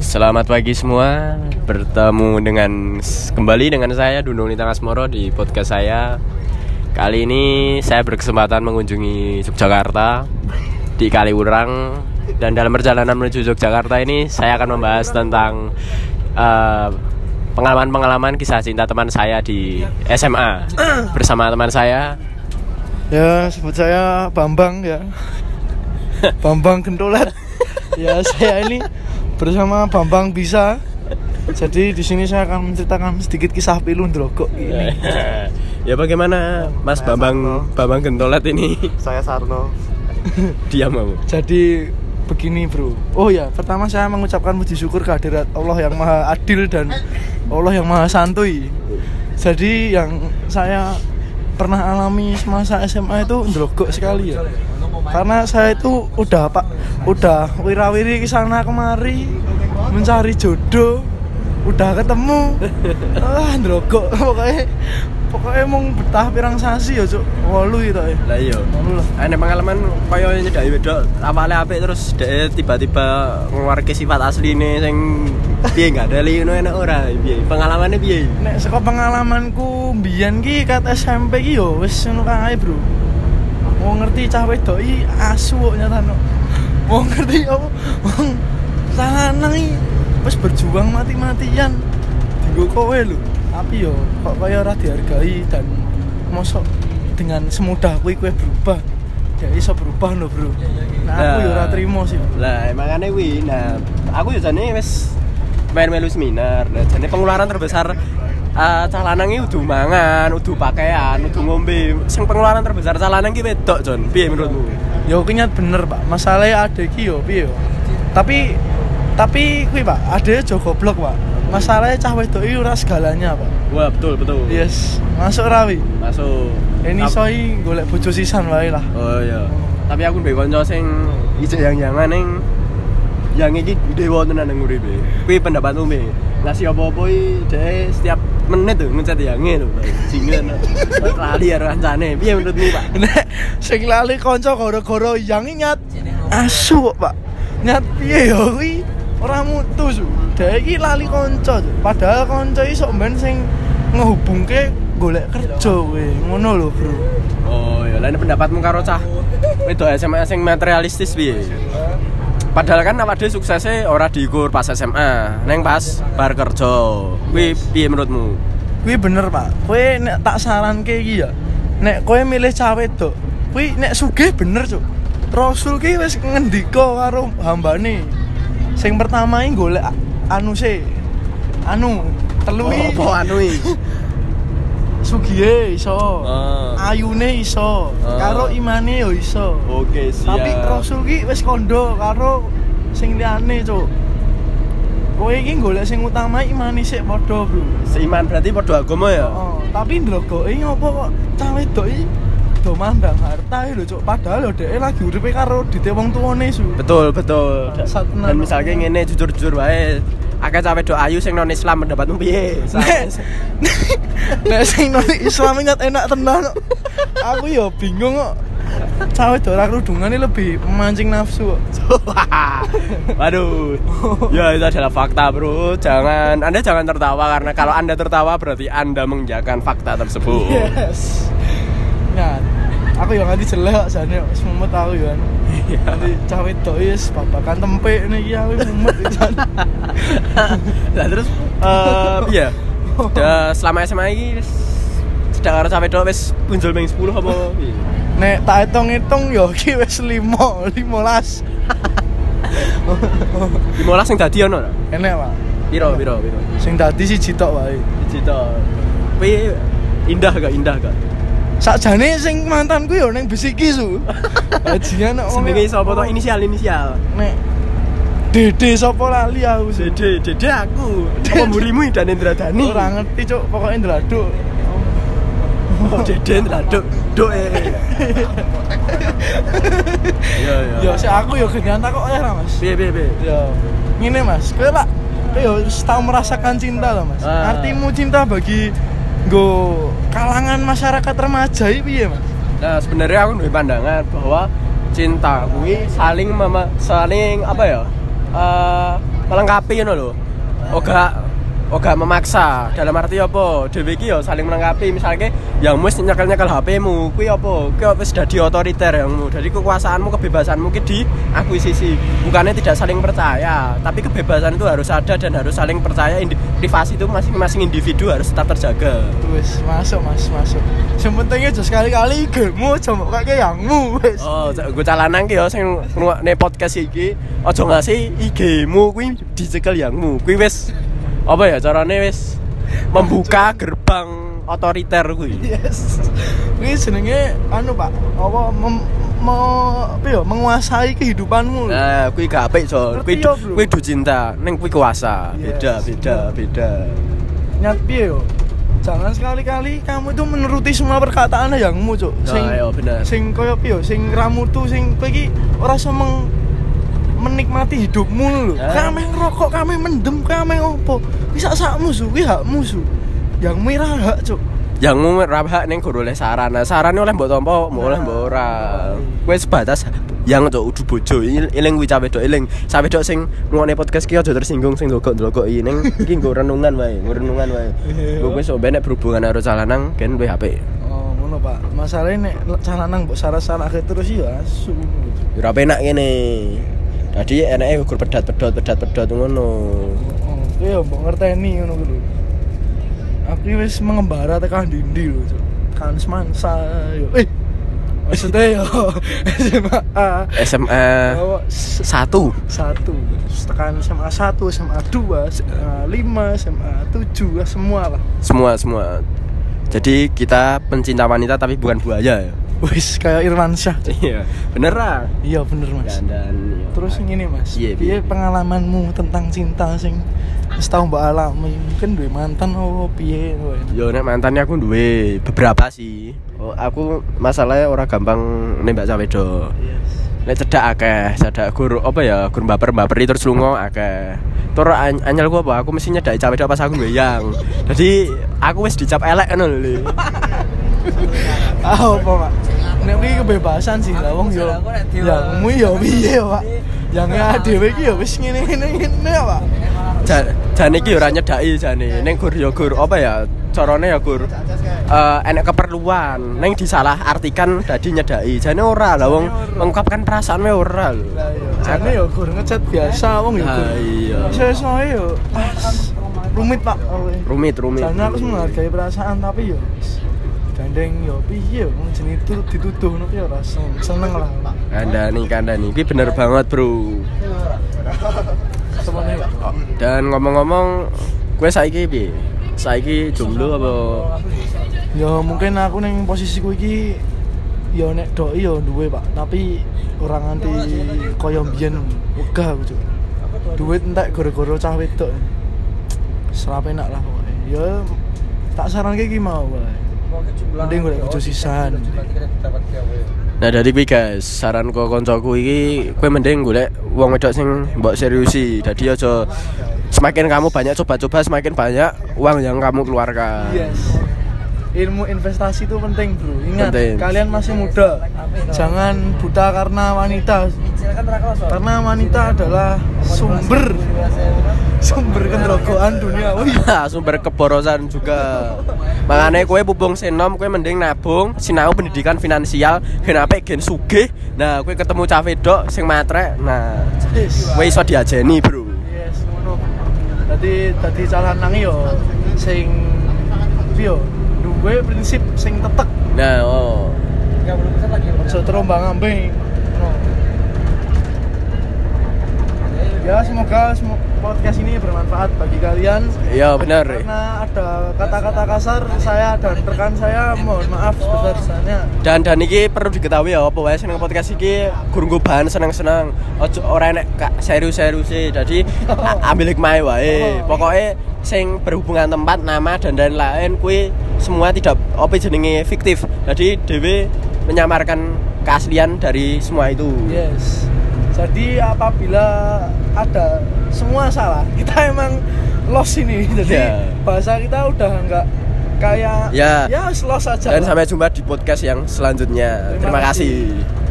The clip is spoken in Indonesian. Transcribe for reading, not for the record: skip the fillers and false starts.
Selamat pagi semua. Bertemu kembali dengan saya Dundung Nitang Asmoro di podcast saya. Kali ini saya berkesempatan mengunjungi Yogyakarta di Kaliurang. Dan dalam perjalanan menuju Yogyakarta ini saya akan membahas tentang pengalaman-pengalaman kisah cinta teman saya di SMA bersama teman saya. Ya, sebut saya Bambang ya. Bambang Gentolet. Ya, saya ini bersama Bambang Bisa. Jadi di sini saya akan menceritakan sedikit kisah pilu Ndrogok ini. Ya, bagaimana Mas Bambang Gentolet ini? Saya Sarno. Diam kamu. Jadi begini bro. Oh ya, pertama saya mengucapkan puji syukur kehadirat Allah yang Maha Adil dan Allah yang Maha Santuy. Jadi yang saya pernah alami semasa SMA itu ndrogok sekali ya. Karena saya itu udah wirawiri kesana kemari mencari jodoh, udah ketemu, ndrogok pokoknya mau betah pirang sasi ya cuk, 8 itu ya. Lah iya. Ada pengalaman kaya nyedaki wedok awale apik terus dhek tiba-tiba ngeluarke sifat asline sing piye enggak ada ngono enak ora piye? Pengalamane piye? Nek saka pengalamanku mbiyen ki kat SMP ki yo wis ngono kae, Bro. Wong ngerti cah wedok iki asu kok nyatano. Wong ngerti apa? Wong lanang iki wis berjuang mati-matian dienggo kowe lho. Tapi yo kok kaya ora dihargai dan mosok dengan semudah kuwi kowe berubah. Ya iso berubah lho, Bro. Nah, aku yo ora trimo sih. Lah, makane kuwi. Nah, aku yo jane wis melu seminar. Nah, jane pengeluaran terbesar cah lanang iki udu mangan, udu pakaian, udu ngombe. Sing pengeluaran terbesar cah lanang iki wedok, Jon. Piye menurutmu? Ya kinyat bener, Pak. Masalahe ade iki yo piye yo. Tapi kuwi, Pak, ade aja goblok, Pak. Masalahnya cah wedok iki ora segalanya, Pak. Wah, betul. Yes, masuk rawi. Masuk. Ini soi golek bojo sisan wae lah. Oh iya. Tapi aku duwe kanca sing ijek yang-yangan ning yang iki dewa tenan nang uripe. Kuwi pendapatmu piye? Ngasih apa-apa iki dhek setiap menit tuh ngecat yange lho. Jingan. Lali karo kancane. Piye menurutmu, Pak? Nek sing lali kanca gara-gara yang nyat asu kok, Pak. Nyat piye ya kuwi ora mutu su. Dhek iki lali kanca. Padahal kanca iki sok ben sing ngehubungke golek kerja kowe. Ngono lho, Bro. Oh, ya lha pendapatmu karo cah wedok SMA sing materialistis piye? Padahal kan awake dhewe suksese ora diukur pas SMA, neng pas bar kerja. Kuwi piye menurutmu? Kuwi bener, Pak. Kowe nek tak saranke iki ya. Nek kowe milih cah wedok, kuwi nek sugih bener, Cuk. Rasul ki wis ngendika karo hambane. Sing pertama iki golek telu iki. Apa anu iki? Sugihe iso. Ayune iso. Karo imane yo iso. Oke, siap. Tapi Rasul ki wis kondo karo sing liyane, Cuk. Kowe iki golek sing utama imane sik padha, Bro. Seiman berarti padha agama ya? Tapi ndrogoke ngopo kok cah wedok iki do mandang harta lho, Cuk. Padahal lho dhek lagi uripe karo dite wong tuane su. Betul. Dan misalnya ngene jujur-jujur wae, akeh cah wedok ayu sing non Islam pendapatmu piye? Nek sing non Islam enak tenan. Aku ya bingung kok. Cah wedok ora kerudungane lebih memancing nafsu kok. Waduh. Ya itu adalah fakta, Bro. Anda jangan tertawa karena kalau Anda tertawa berarti Anda mengiyakan fakta tersebut. Yes. Nah, aku yang nganti jelek jane wis mumet aku ya. Nanti cah wedok wis babakan tempe niki aku mumet pisan. Lah terus piye? Selama SMA iki cedak karo cah wedok wis punjul ping 10 apa piye? Nek tak hitung-hitung ya iki wis 15. 15 sing dadi ono ora? Enek, Pak. Piro? Sing dadi siji tok wae. Siji tok. Kuwi indah gak? Sakjane sing mantanku ya ning Besiki su. Bajingan kok. Jenenge sapa to inisial? Nek Dede sapa lali aku. Dede aku. Apa mburimu dan Indradani? Ora ngerti, Cuk. Pokoke Indraduk. Oh, Dede Indraduk. Duk Ya. Ya sik aku ya genyan tak kok ya, Mas. Piye? Ya. Ngene, Mas. Kowe lak yo tau merasakan cinta lho, Mas. Artimu cinta bagi kalangan masyarakat remaja iki piye, Mas? Nah, sebenarnya aku duwe pandangan bahwa cinta kuwi saling apa ya? melengkapi ngono lho. Oga memaksa. Dalam arti apa? Dhewe iki ya saling melengkapi. Misalnya yang wis nyekel HP-mu, kuwi apa? Kuwi wis dadi otoriter yangmu. Jadi kekuasaanmu, kebebasanmu ki diakuisisi. Bukannya tidak saling percaya, tapi kebebasan itu harus ada dan harus saling percaya. Privasi itu masing-masing individu harus tetap terjaga. Wis, masuk. Sing penting aja sekali-kali IG-mu aja mbok kake yangmu wis. Oh, gue calanang ki ya sing ngrungokne podcast iki, aja ngasih IG-mu kuwi dicekel yangmu. Kuwi wis apa ya carane wis membuka gerbang otoriter kuwi. Yes. Kuwi jenenge anu Pak, apa menguasai kehidupanmu. Nah, kuwi gak apik, Jon. Kuwi du cinta, ning kuwi kuasa. Yes. Beda. Nyat piye yo? Jangan sekali-kali kamu itu menuruti semua perkataan yangmu, Cuk. Sing koyo piye yo, sing ramutu sing kowe iki ora iso menikmati hidupmu lho. Kame ngerokok, kame mendem, kame opo. Bisa sak musuh, kuwi hak musuh. Yang mirah hak, Cuk. Yang ora hak ning guru oleh saran. Nah, sarane oleh mbok tampa, oleh mbok ora. Kowe sebatas yang Cuk udu bojo. Eling kuwi cawe dok eling. Cawe dok sing ngrungokne podcast ki aja tersinggung sing ndlokok-ndlokoki ning iki nggo renungan wae. Kowe wis nek berhubungan karo calanang gen luwih apik. Oh, ngono Pak. Masalahnya nek calanang mbok salah-salahke terus ya asu. Ora penak kene. Jadi enake ukur pedot ngono. Oh, iya mbok ngerteni ngono kuwi lho. Aku wis mengembara tekan dindi lho, Cuk. Kan semansa yo. Maksudnya yo SMA 1 tekan SMA 1, SMA 2, SMA 5, SMA 7 semua lah. Semua. Jadi kita pencinta wanita tapi bukan buaya ya. Wis kayak Irwan Syah. Iya, bener lah. Iya bener Mas. Dan terus ngene Mas. Piye pengalamanmu tentang cinta sing wis tau mbok alami? Mungkin duwe mantan apa piye kowe? Yo nek mantannya aku duwe beberapa sih. Aku masalahnya ora gampang nembak cawe do. Yes. Nek cedak gur apa ya, gur baper terus lunga akeh. Tur anyel ku apa? Aku mesti nyedaki cawe do pas aku goyang. Jadi aku wis dicap elek ngono lho. Apa Pak? Nek iki kebebasan sih lah wong yo. Yangmu yo piye Pak? Yang dhewe iki yo wis ngene Pak. Jane iki ora nyedaki jane. Ning gur apa ya? Carane ya gur enek keperluan. Ning disalahartikan dadi nyedaki. Jane ora lah wong mengungkapkan perasaan wae ora lho. Jane yo gur ngechat biasa wong yo. Iya. Iso-isoe yo. Rumit Pak. Rumit. Jane aku menghargai perasaan tapi yo gandeng yo piye wong jenenge dituduh ngono ki ora seneng lah. Kandhani iki bener banget, Bro. Dan ngomong-ngomong, kowe saiki piye? Saiki jomblo apa? Ya mungkin aku ning posisiku iki ya nek doi ya duwe Pak, tapi ora nganti kaya mbiyen wegah aku, Cuk. Duit entek gara-gara cah wedok. Serape enak lah pokoke. Ya tak saranke iki mau wae. Mending golek bojo sisan. Nah dari kuwi guys, saran kok koncoku iki kowe mending golek wong wedok sing mbok seriusi. Dadi aja semakin kamu banyak coba-coba semakin banyak uang yang kamu keluarkan. Yes. Ilmu investasi itu penting, Bro. Ingat, kalian masih muda. Jangan buta karena wanita. Karena wanita adalah sumber kendrogoan dunia. Sumber keborosan juga. Makanya kowe pupung senom, kowe mending nabung, sinau pendidikan finansial, gen apik gen sugih. Nah, kowe ketemu cah wedok sing matrek. Nah, kowe iso diajeni, Bro. Yes, ngono. Dadi calanang yo sing piye? Duwe prinsip sing tetek. Nah, 30% lagi. Aja terombang-ambing. Ya semoga podcast ini bermanfaat bagi kalian. Iya benar. Karena ada kata-kata kasar saya dan rekan saya mohon maaf sebesar-besarnya. Dan ini perlu diketahui ya apa wae seneng podcast iki guru bahan seneng-seneng. Ojo ora enek serius-serius e. Jadi ambil hikmah wae. Pokoknya sing berhubungan tempat, nama dan lain-lain kuwi semua tidak apa jenenge fiktif. Jadi dhewe menyamarkan keaslian dari semua itu. Yes. Jadi apabila ada semua salah, kita emang lost ini. Jadi bahasa kita udah enggak kayak ya lost aja. Dan sampai jumpa di podcast yang selanjutnya. Terima kasih.